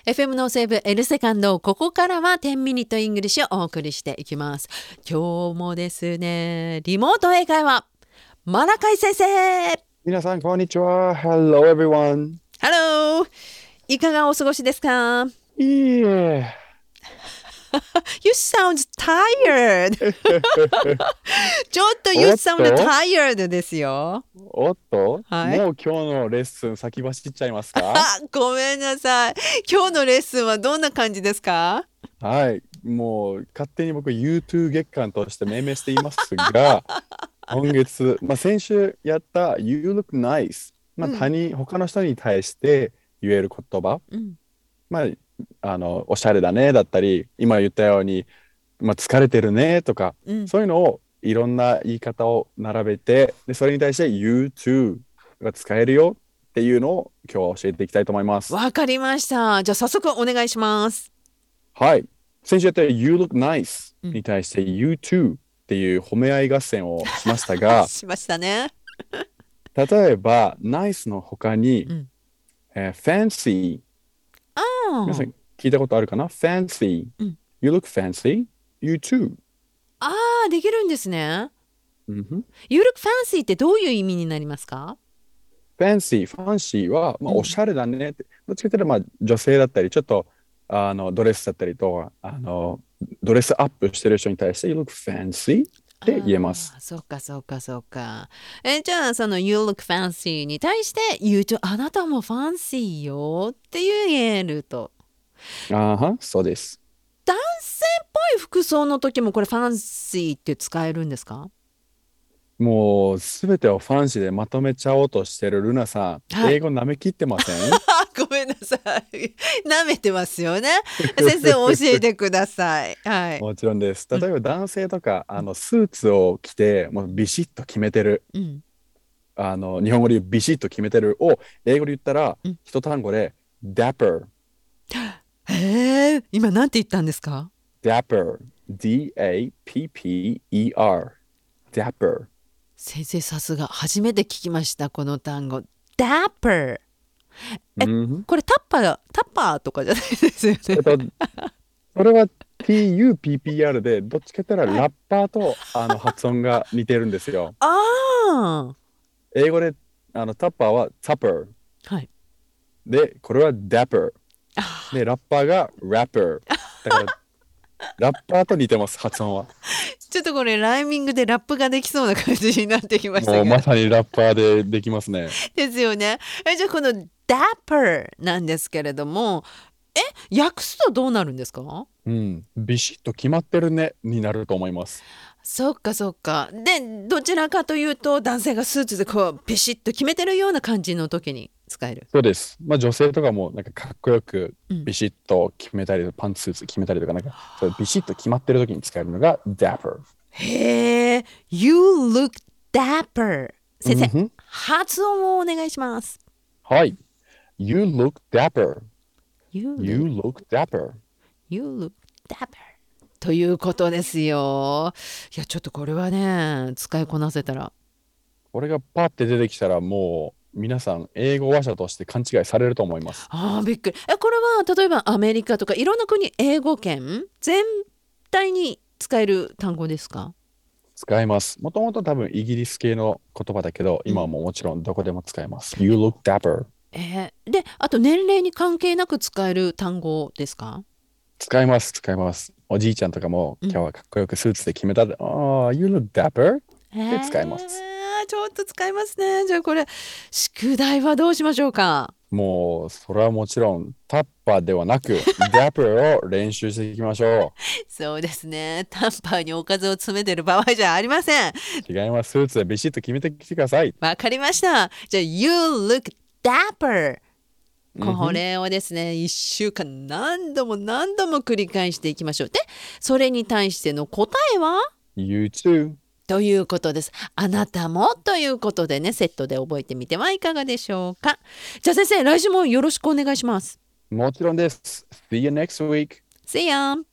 FM のセーブ L セカンド、ここからは10ミニットイングリッシュをお送りしていきます。今日もですね、リモート英会話、マナカイ先生。 皆さん、こんにちは。Hello, everyone. Hello! いかがお過ごしですか？ いいえ。 You sound tired! ちょっと You おっ sound と tired ですよ。 おっとはい。 もう今日のレッスン先走っちゃいますか？ あ、ごめんなさい。今日のレッスンはどんな感じですか？ はい。もう勝手に僕 YouTube 月間として命名していますが、今月、先週やった You look nice。 うん。 他の人に対して言える言葉。 うん。 まあ、おしゃれだねだったり、今言ったように、疲れてるねとか、 うん。 そういうのをいろんな言い方を並べて、で、それに対して You too が使えるよっていうのを今日は教えていきたいと思います。 わかりました。じゃあ早速お願いします。 はい。先週やった You look nice うん。 に対して You too っていう褒め合い合戦をしましたが、 しましたね。 例えば nice の他に、 うん。 fancy。 ああ。 皆さん聞いたことあるかな？ fancy。 うん。 You look fancy. You too。 ああ、できるんですね。 うんふん。 You look fancy ってどういう意味になりますか？ ファンシーは、 うん。 おしゃれだねって。どっちかというと、女性だったり、ちょっと、ドレスだったりと、ドレスアップしてる人に対して、You look fancy って言えます。 ああ、そうかそうかそうか。じゃあその You look fancy に対して言うと、あなたもファンシーよって言えると。 あーは、そうです。 男性っぽい服装の時もこれファンシーって使えるんですか？ もう、すべてをファンシーでまとめちゃおうとしてるルナさん、 はい。 英語舐めきってません？ ごめんなさい。舐めてますよね。先生教えてください。はい。 もちろんです。 うん。 例えば男性とか、 うん。 スーツを着て、もうビシッと決めてる。 うん。 日本語で言うビシッと決めてるを、英語で言ったら、 うん。 一単語で、dapper。 へえ、今なんて言ったんですか？ dapper, D-A-P-P-E-R, dapper。 先生さすが。初めて聞きました、この単語。dapper。え、 うん。 これタッパーとかじゃないですよね。 えっと、それは T-U-P-P-R で、どっちかというとはい。 ラッパーと発音が似てるんですよ。 ああ。 英語でタッパーは tapper はい。 で、これは dapper で、ラッパーが rapper。だから、ラッパーと似てます、発音は。 ちょっとこれライミングでラップができそうな感じになってきましたもうまが。 さにラッパーでできますね。 ですよね。じゃあこの dapper なんですけれども、訳すとどうなるんですか？ うん。ビシッと決まってるねになると思います。 そっかそっか。で、どちらかというと男性がスーツでこうビシッと決めてるような感じの時に使える。 そうです。女性とかもなんかかっこよくうん。 ビシッと決めたり、パンツスーツ決めたりとか、そうビシッと決まってる時に使えるのが dapper。 へえ、You look dapper。先生、 うんふん。 発音をお願いします。 はい。You look dapper. You You look, look dapper. you look dapper。ということですよ。いや、ちょっとこれはね、使いこなせたら。 これがパッて出てきたらもう皆さん英語話者として勘違いされると思います。 ああ、びっくり。これは例えばアメリカとかいろんな国、英語圏全体に使える単語ですか？ 使います。もともと多分イギリス系の言葉だけど、 うん。 今はもうもちろんどこでも使えます。You look dapper。 で、あと年齢に関係なく使える単語ですか？ 使います、使います。おじいちゃんとかもうん。 今日はかっこよくスーツで決めたで、ああ、You look dapper で使います。 ちょっと使いますね。じゃあこれ、宿題はどうしましょうか？ もう、それはもちろん、タッパーではなく、dapper を練習していきましょそうですね。タンパーにおかずを詰めてる場合じゃありません。 う。違います。スーツでビシッと決めてきてください。 わかりました。じゃあ、You look dapper。こうんふん。 れをですね、1週間何度も何度も繰り返していきましょう。で、それに対しての答えは You too。 ということです。あなたもということでね、セットで覚えてみてはいかがでしょうか。じゃあ先生、来週もよろしくお願いします。 もちろんです。See you next week. See ya!